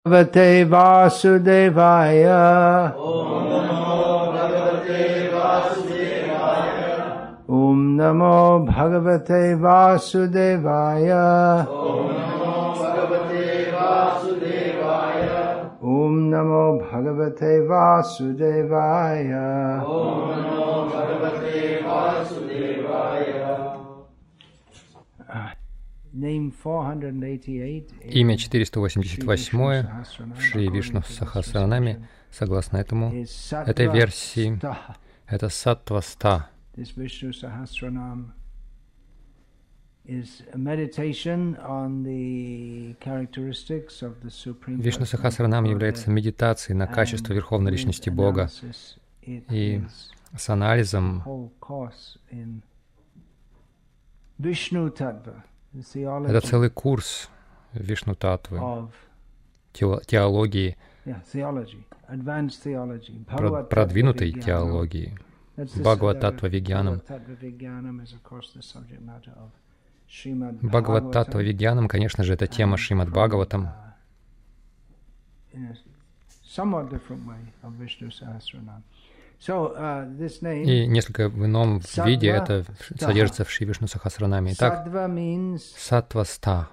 Bhagavate Vasudevaya. Om Namo Bhagavate Vasudevaya. Om Namo Bhagavate Vasudevaya. Имя 488 в Шри Вишну Сахасранаме, согласно этой версии, это Саттва-ста. Вишну Сахасранам является медитацией на качество Верховной Личности Бога и с анализом это целый курс Вишну-татвы, теологии, продвинутой теологии, Бхагават-татва-вигьянам. Бхагават-татва-вигьянам, конечно же, это тема Шримад Бхагаватам. И несколько в ином виде это содержится в Шри Вишну Сахасранаме. Итак, Саттва-ста.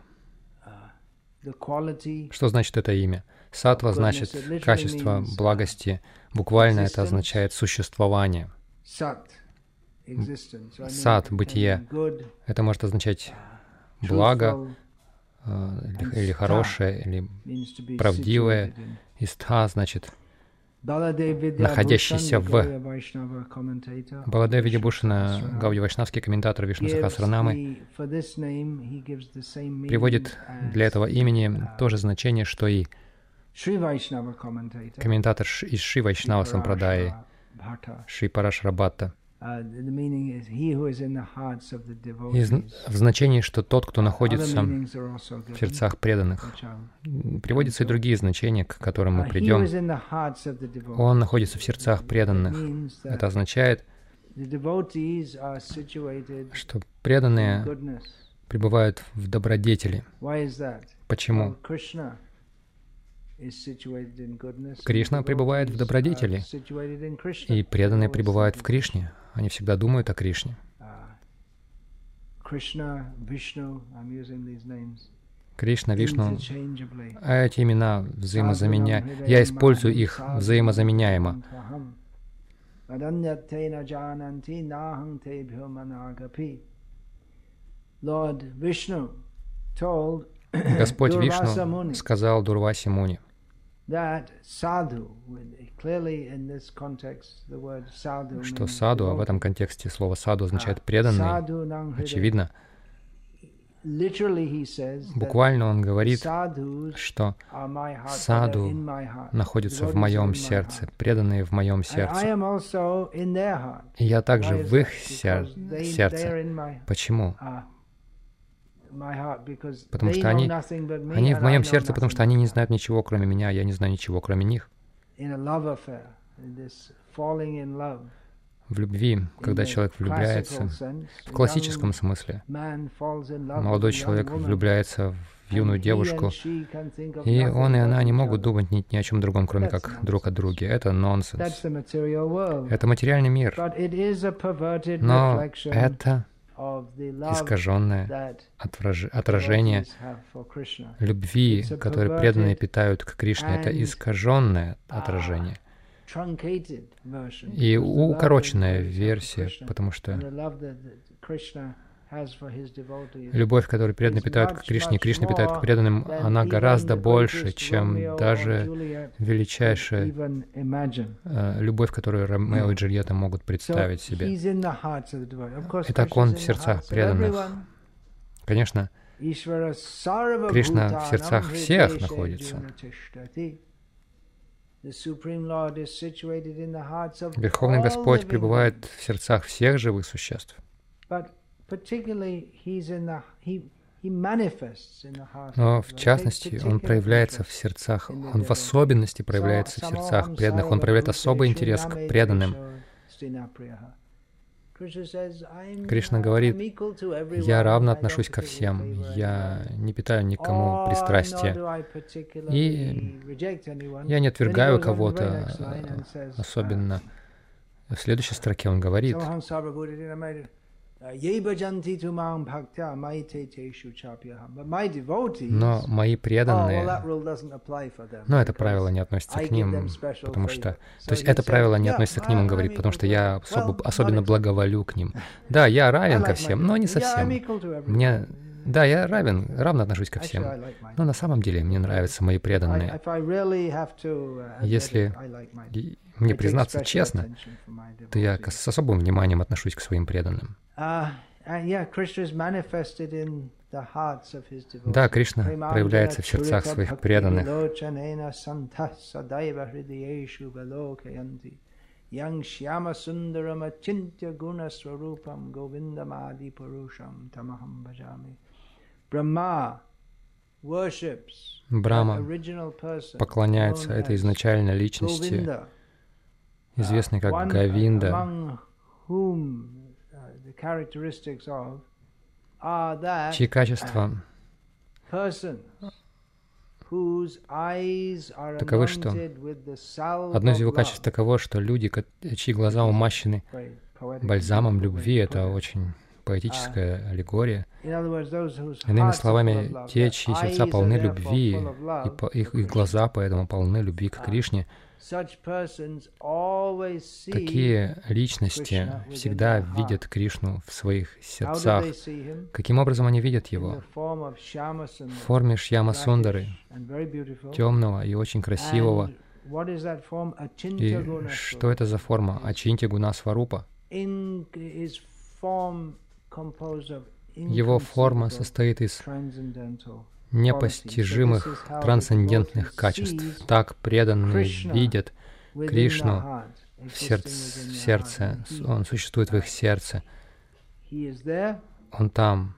Что значит это имя? Саттва значит качество благости. Буквально это означает существование. Сат, бытие. Это может означать благо, или хорошее, или правдивое. И ста значит находящийся в. Баладев Видябушана, Гаудия-вайшнавский комментатор Вишну Сахасранамы, приводит для этого имени то же значение, что и комментатор из Шри Вайшнава Сампрадаи, Шри Парашара Бхатта. В значении, что тот, кто находится в сердцах преданных. Приводятся и другие значения, к которым мы придем. Он находится в сердцах преданных. Это означает, что преданные пребывают в добродетели. Почему? Кришна пребывает в добродетели, и преданные пребывают в Кришне. Они всегда думают о Кришне. Кришна, Вишну, а эти имена взаимозаменяемы. Я использую их взаимозаменяемо. Господь Вишну сказал Дурваси Муни, что саду, а в этом контексте слово саду означает преданный, очевидно. Буквально он говорит, что саду находится в моем сердце, преданные в моем сердце. И я также в их сердце. Почему? Потому что они в моем сердце, потому что они не знают ничего, кроме меня, я не знаю ничего, кроме них. В любви, когда человек влюбляется, в классическом смысле, молодой человек влюбляется в юную девушку, и он и она не могут думать ни о чем другом, кроме как друг о друге. Это нонсенс. Это материальный мир. Но это искаженное отражение любви, которое преданные питают к Кришне. Это искаженное отражение. И укороченная версия, потому что любовь, которую преданные питают к Кришне, Кришна питает к преданным, она гораздо больше, чем даже величайшая любовь, которую Ромео и Джульетта могут представить себе. Итак, он в сердцах преданных. Конечно, Кришна в сердцах всех находится. Верховный Господь пребывает в сердцах всех живых существ. Но в частности, Он проявляется в сердцах, Он в особенности проявляется в сердцах преданных, Он проявляет особый интерес к преданным. Кришна говорит, я равно отношусь ко всем, я не питаю никому пристрастия, и я не отвергаю кого-то особенно. В следующей строке он говорит, но мои преданные, но это правило не относится к ним, потому что, то есть это правило не относится к ним, он говорит, потому что я особенно благоволю к ним. Да, я равен ко всем, но не совсем. Да, я равно отношусь ко всем, но на самом деле мне нравятся мои преданные. Если мне признаться честно, то я с особым вниманием отношусь к своим преданным. Да, Кришна проявляется в сердцах своих преданных. Брахма поклоняется этой изначальной личности, известной как Говинда, чьи качества таковы, что одно из его качеств таково, что люди, чьи глаза умащены бальзамом любви, это очень поэтическая аллегория. Иными словами, те, чьи сердца полны любви, и их глаза поэтому полны любви к Кришне, такие личности всегда видят Кришну в своих сердцах. Каким образом они видят Его? В форме Шьяма-Сундары, темного и очень красивого. И что это за форма? Ачинтья-гуна-сварупа. Его форма состоит из непостижимых трансцендентных качеств. Так преданные видят Кришну в сердце. Он существует в их сердце. Он там.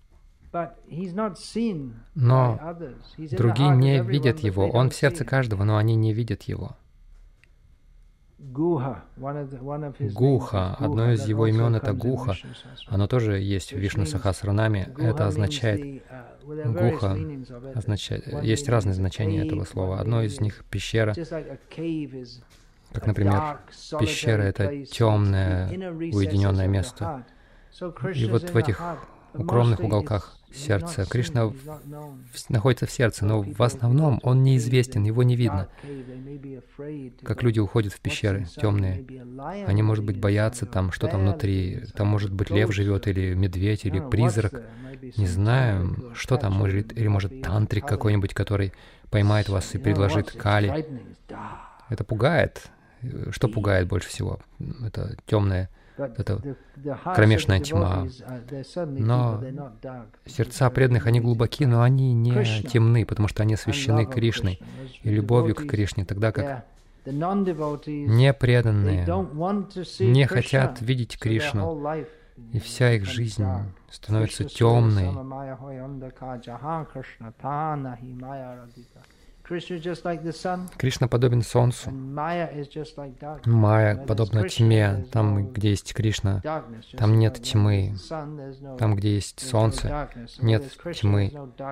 Но другие не видят Его. Он в сердце каждого, но они не видят Его. Гуха, одно из его имен — это Гуха. Оно тоже есть в Вишну Сахасранаме. Это означает, Гуха означает, есть разные значения этого слова. Одно из них — пещера. Как, например, пещера — это темное, уединенное место. И вот в этих укромных уголках сердца Кришна находится в сердце, но в основном Он неизвестен, Его не видно. Как люди уходят в пещеры темные, они, может быть, боятся там, что там внутри. Там, может быть, лев живет, или медведь, или призрак. Не знаю, что там, или, может, тантрик какой-нибудь, который поймает вас и предложит кали. Это пугает. Что пугает больше всего? Это темное, это кромешная тьма. Но сердца преданных, они глубоки, но они не темны, потому что они освящены Кришной и любовью к Кришне, тогда как непреданные не хотят видеть Кришну, и вся их жизнь становится темной. Кришна подобен солнцу. Майя подобна тьме. Там, где есть Кришна, там нет тьмы. Там, где есть солнце, нет тьмы.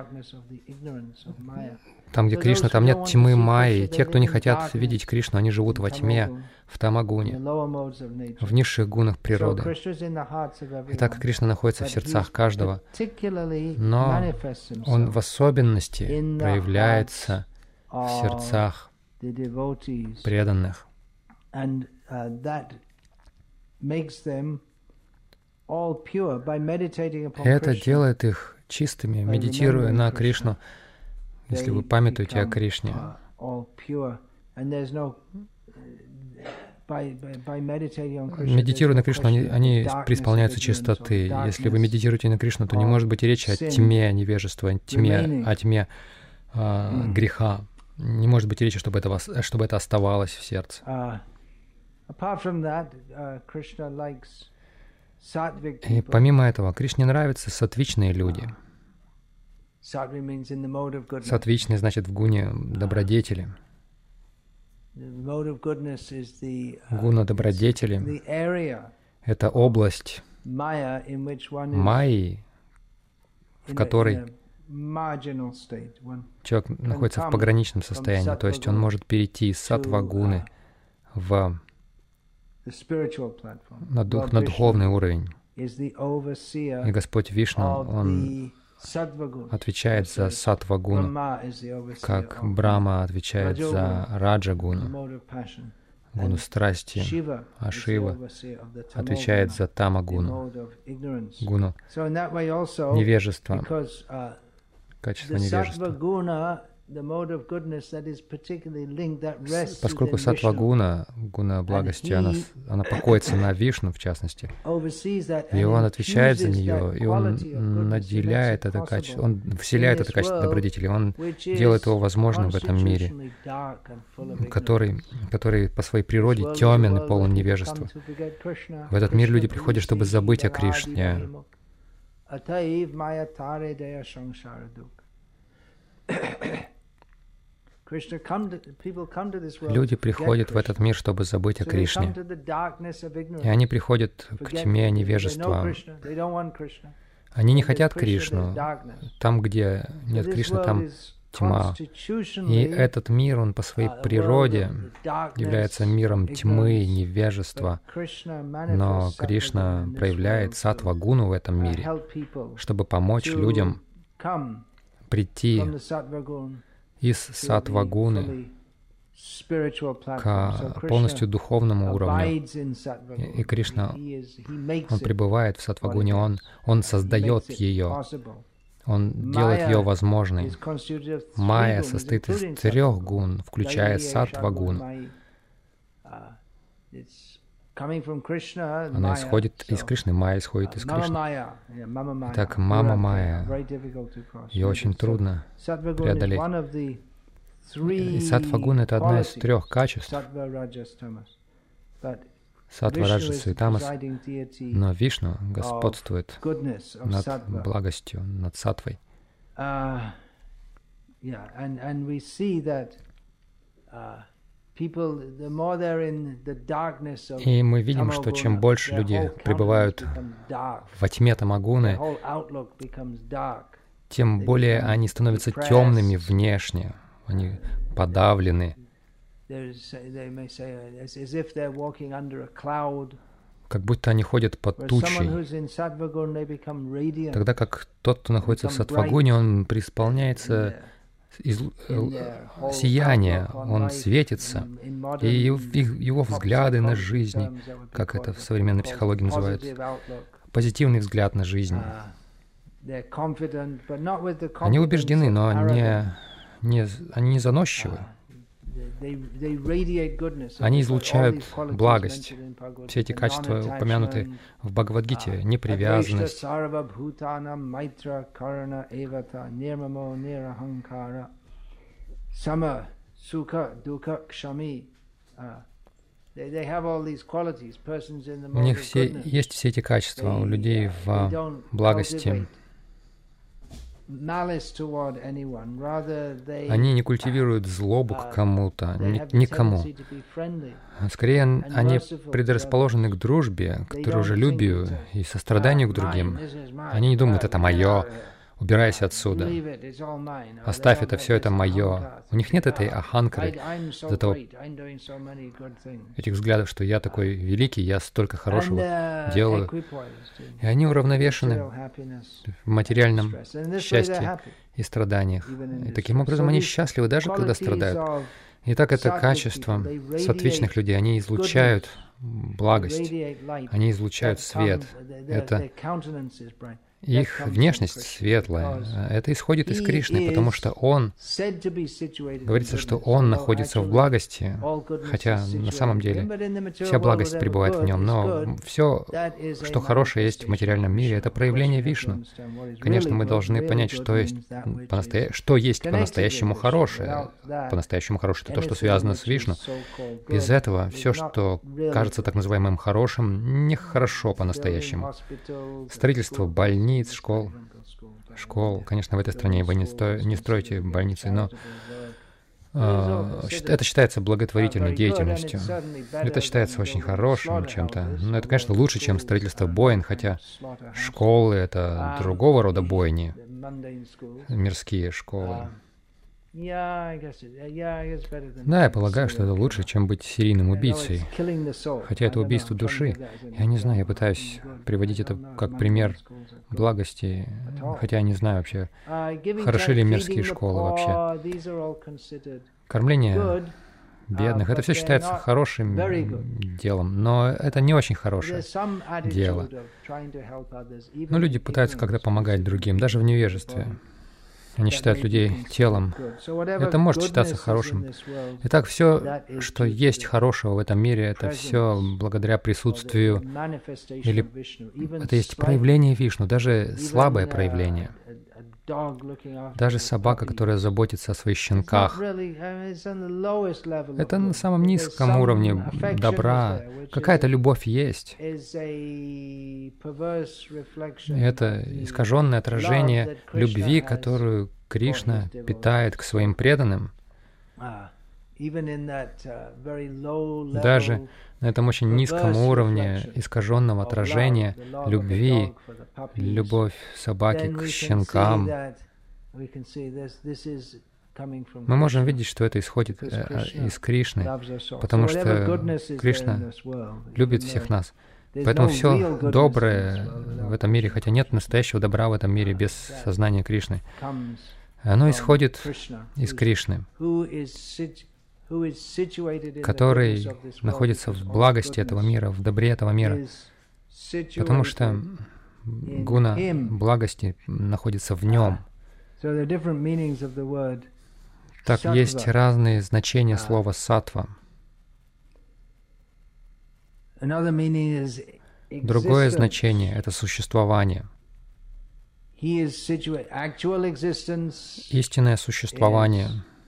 Там, где Кришна, там нет тьмы Майи. Те, кто не хотят видеть Кришну, они живут во тьме, в тамагуне, в низших гунах природы. Итак, Кришна находится в сердцах каждого, но Он в особенности проявляется в сердцах преданных. Это делает их чистыми, медитируя на Кришну. Если вы памятуете о Кришне, медитируя на Кришну, они преисполняются чистоты. Если вы медитируете на Кришну, то не может быть и речи о тьме невежества, о тьме греха. Не может быть и речи, чтобы это оставалось в сердце. И помимо этого, Кришне нравятся саттвичные люди. Саттвичный значит в гуне добродетели. Гуна добродетели это область майи, в которой человек находится в пограничном состоянии, то есть он может перейти из саттва-гуны на духовный уровень. И Господь Вишну, Он отвечает за саттва-гуну, как Брахма отвечает за раджа-гуну, гуну страсти, а Шива отвечает за тама-гуну, гуну невежества, качество невежества. Поскольку саттва-гуна, гуна благости, она покоится на Вишну, в частности, и он отвечает за нее, и он наделяет это качество, он вселяет это качество добродетели, он делает его возможным в этом мире, который по своей природе темен и полон невежества. В этот мир люди приходят, чтобы забыть о Кришне. Люди приходят в этот мир, чтобы забыть о Кришне. И они приходят к тьме невежества. Они не хотят Кришну. Там, где нет Кришны, там тьма. И этот мир, он по своей природе является миром тьмы, невежества. Но Кришна проявляет саттва-гуну в этом мире, чтобы помочь людям прийти из саттва-гуны к полностью духовному уровню. И Кришна, Он пребывает в саттва-гуне, Он создает ее, Он делает ее возможной. Майя состоит из 3 гун, включая саттва-гуну. Она исходит из Кришны, майя исходит из Кришны. Итак, мама-майя. Ее очень трудно преодолеть. И саттва-гуна — это одна из 3 качеств. Саттва, раджаса и тамас. Но Вишну господствует над благостью, над саттвой. И мы видим, что чем больше люди пребывают во тьме тамагуны, тем более они становятся темными внешне, они подавлены, как будто они ходят под тучей. Тогда как тот, кто находится в саттва-гуне, он преисполняется сияние, он светится, и его взгляды на жизнь, как это в современной психологии называют, позитивный взгляд на жизнь. Они убеждены, но они не заносчивы. Они излучают благость. Все эти качества упомянуты в Бхагавад-гите. Непривязанность, у них есть все эти качества, у людей в благости. Они не культивируют злобу к кому-то, никому. Скорее, они предрасположены к дружбе, к дружелюбию и состраданию к другим. Они не думают, это мое, убирайся отсюда, оставь это, все это мое. У них нет этой аханкары, этих взглядов, что я такой великий, я столько хорошего делаю. И они уравновешены в материальном счастье и страданиях. И таким образом они счастливы, даже когда страдают. Итак, это качество саттвичных людей. Они излучают благость, они излучают свет. Это их внешность светлая. Это исходит из Кришны, потому что Он, говорится, что Он находится в благости, хотя на самом деле вся благость пребывает в Нем, но все, что хорошее есть в материальном мире, это проявление Вишну. Конечно, мы должны понять, что есть по-настоящему хорошее. По-настоящему хорошее — это то, что связано с Вишну. Без этого все, что кажется так называемым хорошим, нехорошо по-настоящему. Строительство больниц, школ. Конечно, в этой стране вы не строите больницы, но Это считается благотворительной деятельностью. Это считается очень хорошим чем-то. Но это, конечно, лучше, чем строительство бойн, хотя школы — это другого рода бойни, мирские школы. Да, я полагаю, что это лучше, чем быть серийным убийцей. Хотя это убийство души. Я не знаю, я пытаюсь приводить это как пример благости, хотя я не знаю вообще, хороши ли мирские школы вообще. Кормление бедных — это все считается хорошим делом, но это не очень хорошее дело. Но люди пытаются как-то помогать другим, даже в невежестве. Они считают людей телом. Это может считаться хорошим. Итак, все, что есть хорошего в этом мире, это все благодаря присутствию, или это есть проявление Вишну, даже слабое проявление. Даже собака, которая заботится о своих щенках. Это на самом низком уровне добра. Какая-то любовь есть. Это искаженное отражение любви, которую Кришна питает к своим преданным. Даже на этом очень низком уровне искаженного отражения любви, любовь собаки к щенкам, мы можем видеть, что это исходит из Кришны, потому что Кришна любит всех нас. Поэтому все доброе в этом мире, хотя нет настоящего добра в этом мире без сознания Кришны, оно исходит из Кришны, который находится в благости этого мира, в добре этого мира, потому что гуна благости находится в нем. Так, есть разные значения слова «саттва». Другое значение — это существование. Истинное существование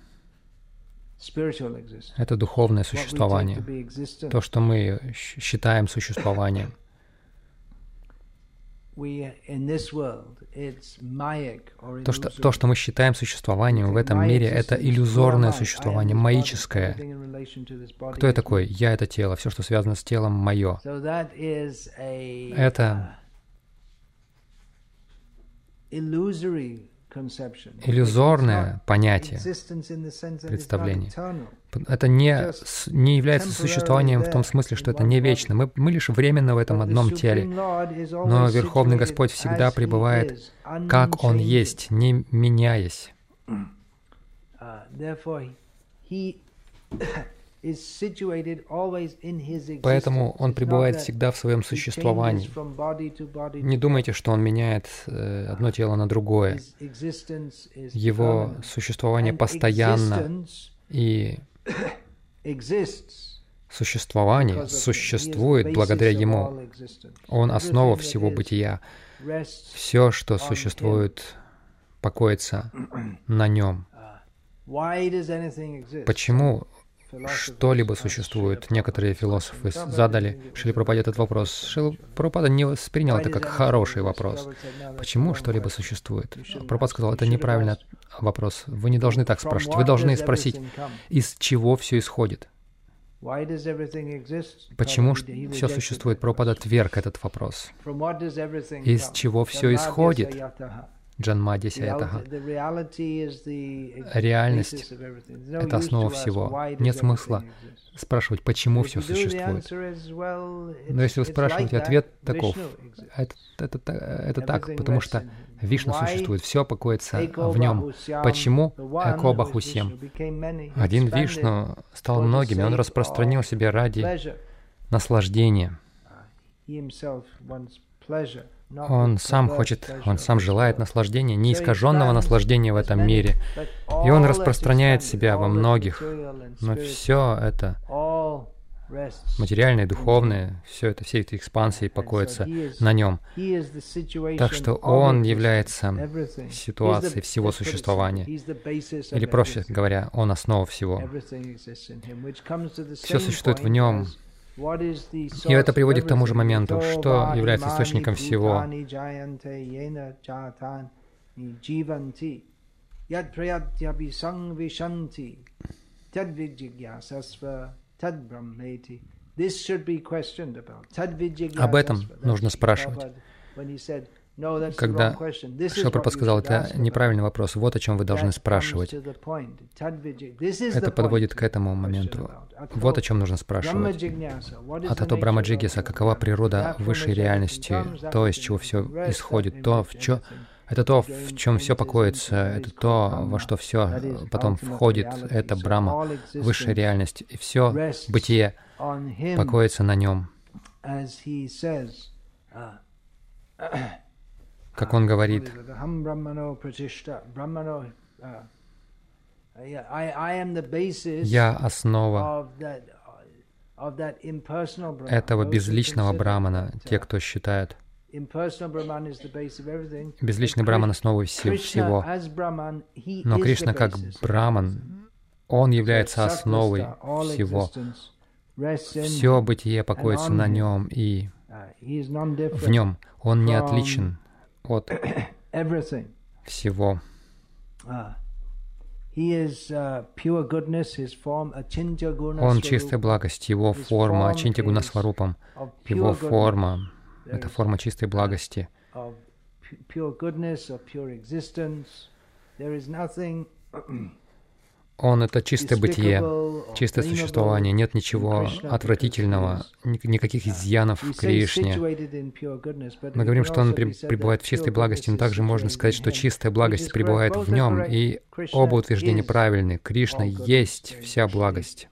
— это духовное существование, то, что мы считаем существованием. То, что мы считаем существованием в этом мире, это иллюзорное существование, маическое. Кто я такой? Я — это тело. Все, что связано с телом, мое. Это иллюзорное понятие, представление. Это не является существованием в том смысле, что это не вечно. Мы лишь временно в этом одном теле. Но Верховный Господь всегда пребывает, как Он есть, не меняясь. Поэтому Он пребывает всегда в своем существовании. Не думайте, что Он меняет одно тело на другое. Его существование постоянно, и существование существует благодаря Ему. Он — основа всего бытия. Все, что существует, покоится на Нем. Почему что-либо существует? Некоторые философы задали Шриле Прабхупаде этот вопрос. Шрила Прабхупада не воспринял это как хороший вопрос. Почему что-либо существует? Прабхупада сказал, это неправильный вопрос. Вы не должны так спрашивать. Вы должны спросить, из чего все исходит? Почему все существует? Прабхупада отверг этот вопрос. Из чего все исходит? Джанмадья Саятаха. Реальность — это основа всего. Нет смысла спрашивать, почему все существует. Но если вы спрашиваете, ответ таков. Это так, потому что Вишну существует, все покоится в нем. Почему? Эко Бахусьям. Один Вишну стал многими, он распространил себя ради наслаждения. Он сам желает насладжения, неискаженного наслаждения в этом мире. И Он распространяет себя во многих. Но все это, материальное и духовное, все эти экспансии покоятся на Нем. Так что Он является ситуацией всего существования. Или, проще говоря, Он — основа всего. Все существует в Нем. И это приводит к тому же моменту, что является источником всего. Yad prayatyapi sangvishanti tadvijigyasasva tadbrahmeti. Об этом нужно спрашивать. Когда Шилапрабхупада сказал, это неправильный вопрос, вот о чем вы должны спрашивать. Это подводит к этому моменту. Вот о чем нужно спрашивать. А тато Брахмаджигьяса, какова природа высшей реальности, то, из чего все исходит, это то, в чем все покоится, это то, во что все потом входит, это Брахма, высшая реальность, и все бытие покоится на нем. Как он говорит, «Я основа этого безличного Брамана», те, кто считает. Безличный Браман — основа всего. Но Кришна как Браман, Он является основой всего. Все бытие покоится на Нем, и в Нем Он не отличен от всего. Он чистая благость, Его форма Ачинтья Гунасварупам, Его форма — это форма чистой благости. Он — это чистое бытие, чистое существование. Нет ничего отвратительного, никаких изъянов в Кришне. Мы говорим, что Он пребывает в чистой благости, но также можно сказать, что чистая благость пребывает в Нем, и оба утверждения правильны. Кришна есть вся благость.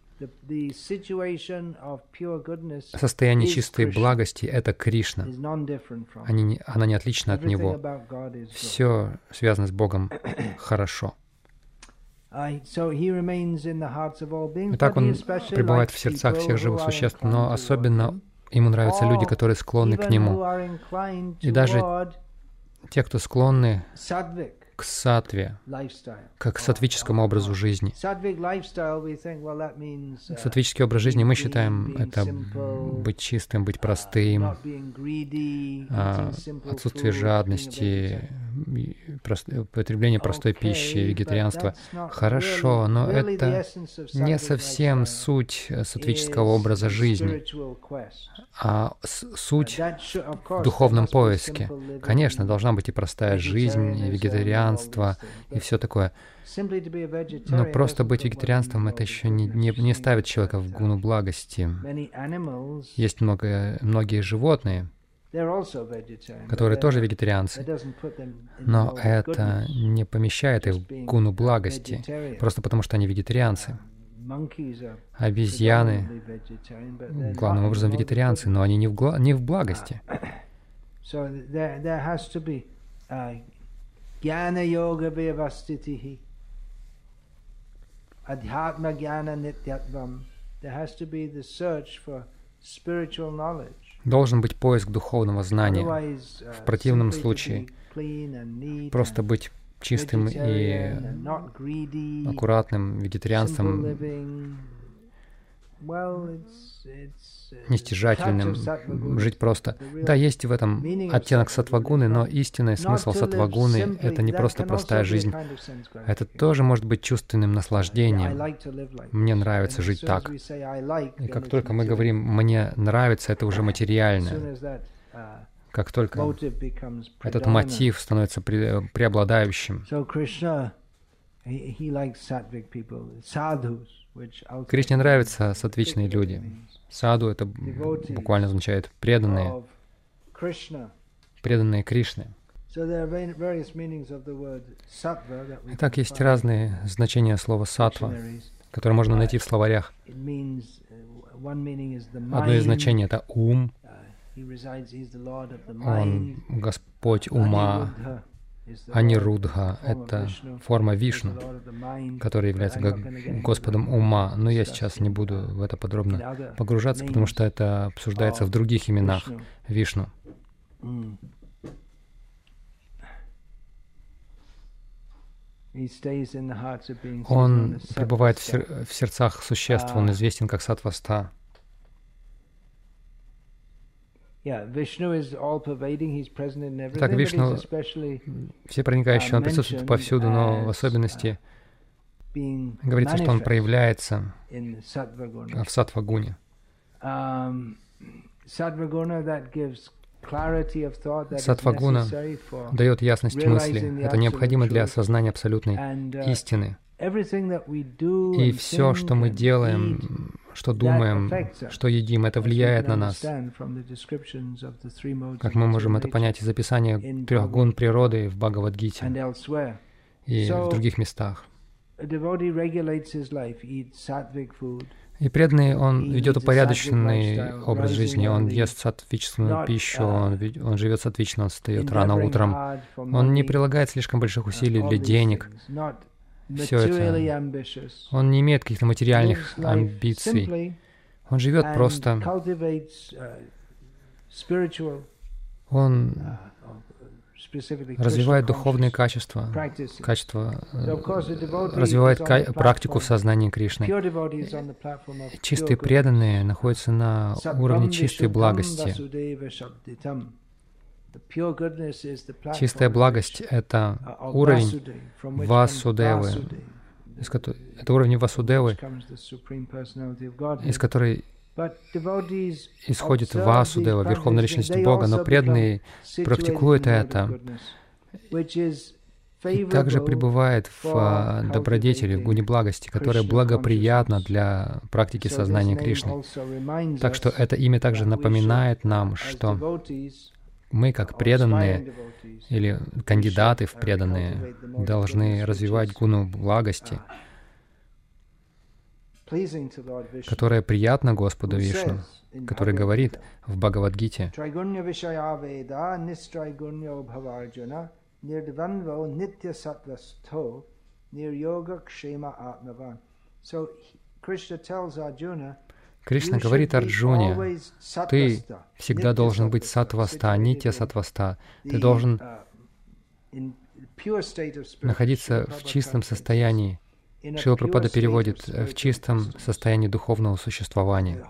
Состояние чистой благости — это Кришна. Она не отлична от Него. Все связано с Богом хорошо. Итак, Он пребывает в сердцах всех живых существ, но особенно Ему нравятся люди, которые склонны к Нему. И даже те, кто склонны к саттве, как к саттвическому образу жизни. Саттвический образ жизни, мы считаем, это быть чистым, быть простым, отсутствие жадности, потребление простой пищи, вегетарианство. Хорошо, но это не совсем суть саттвического образа жизни, а суть в духовном поиске. Конечно, должна быть и простая жизнь, и вегетарианство, и все такое. Но просто быть вегетарианством — это еще не ставит человека в гуну благости. Есть многие животные, которые тоже вегетарианцы, но это не помещает их в гуну благости, просто потому что они вегетарианцы. Обезьяны главным образом вегетарианцы, но они не в благости. Должен быть поиск духовного знания. В противном случае просто быть чистым и аккуратным вегетарианством, нестяжательным, жить просто. Да, есть в этом оттенок саттвагуны, но истинный смысл саттвагуны — это не просто простая жизнь. Это тоже может быть чувственным наслаждением. Мне нравится жить так. И как только мы говорим «мне нравится», это уже материальное. Как только этот мотив становится преобладающим. Кришне нравятся саттвичные люди. Саду — это буквально означает преданные Кришне. Итак, есть разные значения слова «саттва», которые можно найти в словарях. Одно из значений — это ум. Он Господь ума. Анирудха — это форма Вишну, который является Господом ума. Но я сейчас не буду в это подробно погружаться, потому что это обсуждается в других именах Вишну. Он пребывает в сердцах существ, он известен как Саттваста. Так, Вишну всепроникающий, он присутствует повсюду, но в особенности говорится, что он проявляется в саттва-гуне. Саттва-гуна дает ясность мысли. Это необходимо для осознания абсолютной истины. И все, что мы делаем, что думаем, что едим, это влияет на нас. Как мы можем это понять из описания 3 гун природы в Бхагавад-гите и в других местах. И преданный, он ведет упорядоченный образ жизни, он ест саттвическую пищу, он живет саттвично, он встает рано утром, он не прилагает слишком больших усилий для денег. Все это. Он не имеет каких-то материальных амбиций. Он живет просто. Он развивает духовные качества, развивает практику в сознании Кришны. Чистые преданные находятся на уровне чистой благости. Чистая благость — это уровень Васудевы, это уровень Васудевы, из которой исходит Васудева, Верховная Личность Бога, но преданные практикуют это и также пребывает в добродетели, в гуне благости, которая благоприятна для практики сознания Кришны. Так что это имя также напоминает нам, что мы, как преданные или кандидаты в преданные, должны развивать гуну благости, которая приятна Господу Вишну, который говорит в Бхагавад-гите: Кришна говорит Арджуне: ты всегда должен быть саттваста, нитья саттваста. Ты должен находиться в чистом состоянии. Шрила Прабхупада переводит: в чистом состоянии духовного существования.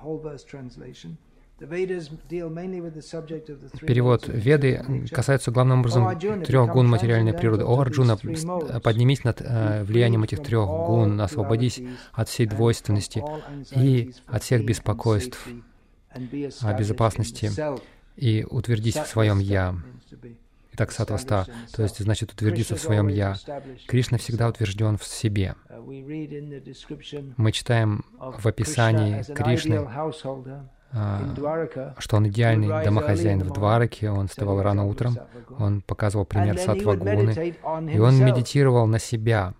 Перевод: Веды касаются главным образом 3 гун материальной природы. О, Арджуна, поднимись над влиянием этих 3 гун, освободись от всей двойственности и от всех беспокойств о безопасности и утвердись в своем «Я». Итак, саттваста, то есть, значит, утвердиться в своем «Я». Кришна всегда утвержден в себе. Мы читаем в описании Кришны, что он идеальный домохозяин в Двараке, он вставал рано утром, он показывал пример саттва-гуны, и он медитировал на себя.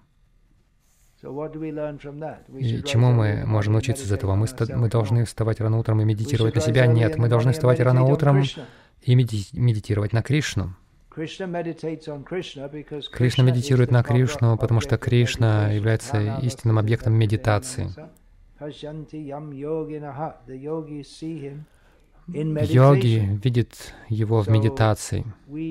И чему мы можем научиться из этого? Мы должны вставать рано утром и медитировать на себя? Нет, мы должны вставать рано утром и медитировать на Кришну. Кришна медитирует на Кришну, потому что Кришна является истинным объектом медитации. Йоги видят его в медитации.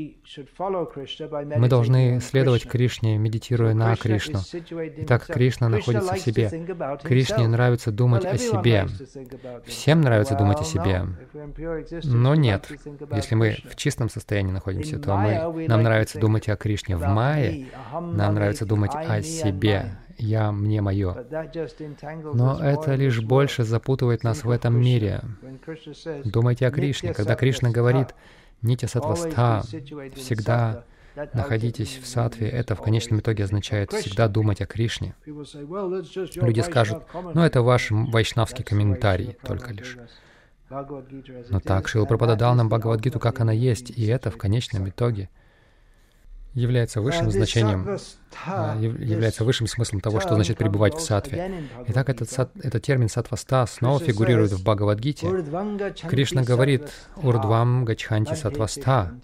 Мы должны следовать Кришне, медитируя на Кришну. Итак, Кришна находится в себе. Кришне нравится думать о себе. Всем нравится думать о себе. Но нет. Если мы в чистом состоянии находимся, то нам нравится думать о Кришне. В майе нам нравится думать о себе. «Я, мне, мое». Но это лишь больше запутывает нас в этом мире. Думайте о Кришне. Когда Кришна говорит «нитья саттваста», всегда находитесь в саттве, это в конечном итоге означает всегда думать о Кришне. Люди скажут: ну это ваш вайшнавский комментарий только лишь. Но так Шрила Прабхупада дал нам Бхагавад-гиту, как она есть, и это в конечном итоге является высшим значением, является высшим смыслом того, что значит пребывать в саттве. Итак, этот термин саттваста снова фигурирует в Бхагавад-гите. Кришна говорит: «Урдвам гачханти саттваста».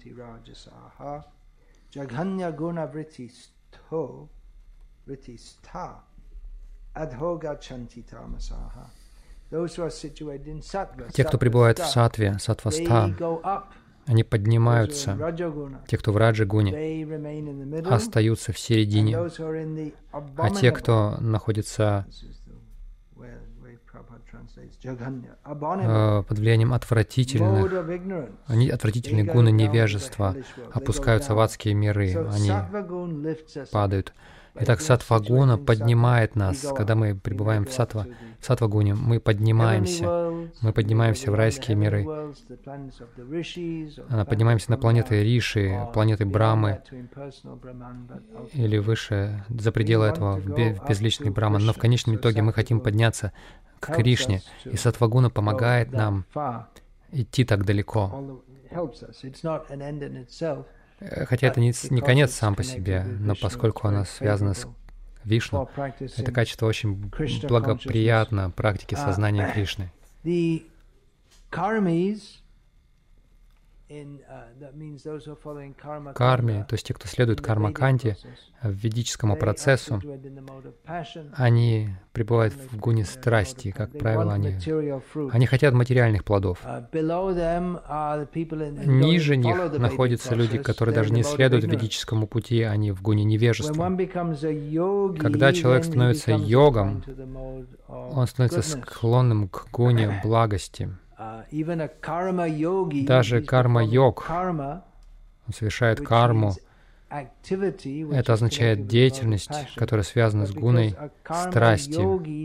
Те, кто пребывает в саттве, саттваста, они поднимаются. Те, кто в раджа-гуне, остаются в середине. А те, кто находится под влиянием отвратительной гуны невежества опускаются в адские миры, они падают. Итак, саттва-гуна поднимает нас. Когда мы пребываем в саттва-гуне, мы поднимаемся в райские миры. Поднимаемся на планеты Риши, планеты Брамы, или выше, за пределы этого, в безличный Браман. Но в конечном итоге мы хотим подняться к Кришне, и саттва-гуна помогает нам идти так далеко. Хотя это не конец сам по себе, но поскольку оно связано с Вишну, это качество очень благоприятно практике сознания Кришны. Карми, то есть те, кто следует карма-канте, ведическому процессу, они пребывают в гуне страсти, как правило, они хотят материальных плодов. Ниже них находятся люди, которые даже не следуют ведическому пути, они в гуне невежества. Когда человек становится йогом, он становится склонным к гуне благости. Даже карма-йог, он совершает карму. Это означает деятельность, которая связана с гуной страсти.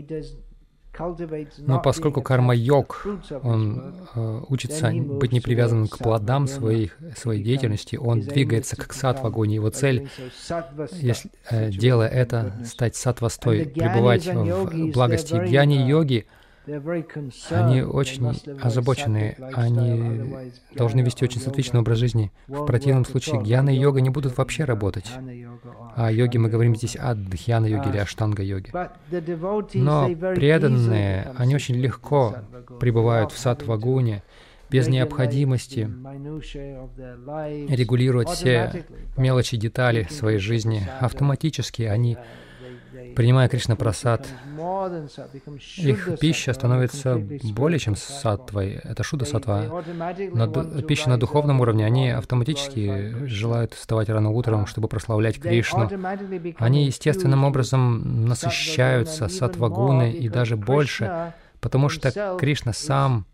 Но поскольку карма-йог, он учится быть не привязанным к плодам своей деятельности, он двигается к саттва-гуне. Его цель, делая это, стать саттвастой, пребывать в благости. Гьяни-йоги, они очень озабочены, они должны вести очень сатвичный образ жизни. В противном случае гьяна и йога не будут вообще работать. О йоге мы говорим здесь о дхьяна-йоге или аштанга-йоге. Но преданные, они очень легко пребывают в саттва-гуне, без необходимости регулировать все мелочи, детали своей жизни. Автоматически они, принимая Кришна-прасад, их пища становится более чем саттвой. Это шудда-саттва. Пища на духовном уровне, они автоматически желают вставать рано утром, чтобы прославлять Кришну. Они естественным образом насыщаются саттва-гуной и даже больше, потому что Кришна сам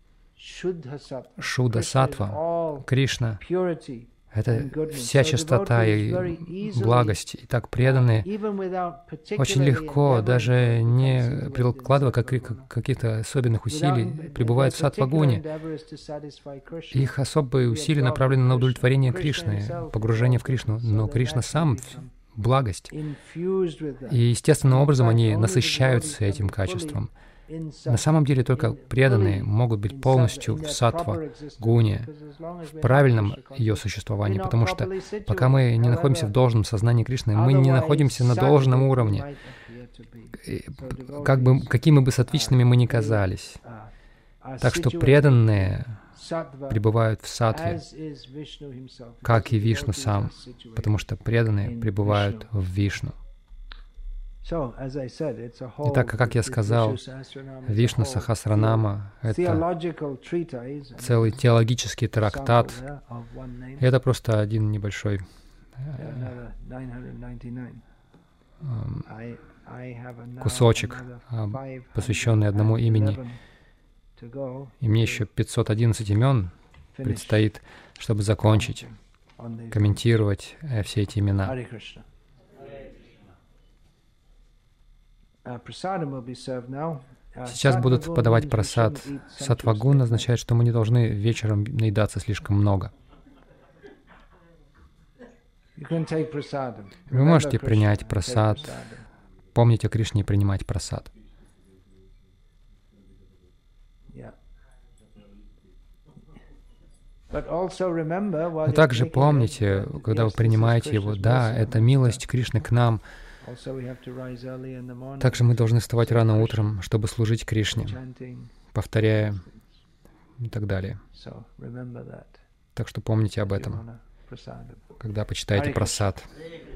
шудда-саттва. Кришна — это вся чистота и благость. И так преданные очень легко, даже не прикладывая каких-то особенных усилий, пребывают в саттва-гуне. Их особые усилия направлены на удовлетворение Кришны, погружение в Кришну. Но Кришна сам — благость. И естественным образом они насыщаются этим качеством. На самом деле только преданные могут быть полностью в саттва-гуне, в правильном ее существовании, потому что пока мы не находимся в должном сознании Кришны, мы не находимся на должном уровне, какими бы саттвичными мы ни казались. Так что преданные пребывают в саттве, как и Вишну сам, потому что преданные пребывают в Вишну. Итак, как я сказал, Вишну Сахасранама — это целый теологический трактат. Это просто один небольшой кусочек, посвященный одному имени. И мне еще 511 имен предстоит, чтобы закончить, комментировать все эти имена. Сейчас будут подавать прасад. Саттва-гуна означает, что мы не должны вечером наедаться слишком много. Вы можете принять прасад. Помните о Кришне и принимать прасад. Но также помните, когда вы принимаете его, да, это милость Кришны к нам. Также мы должны вставать рано утром, чтобы служить Кришне, повторяя и так далее. Так что помните об этом, когда почитаете прасад.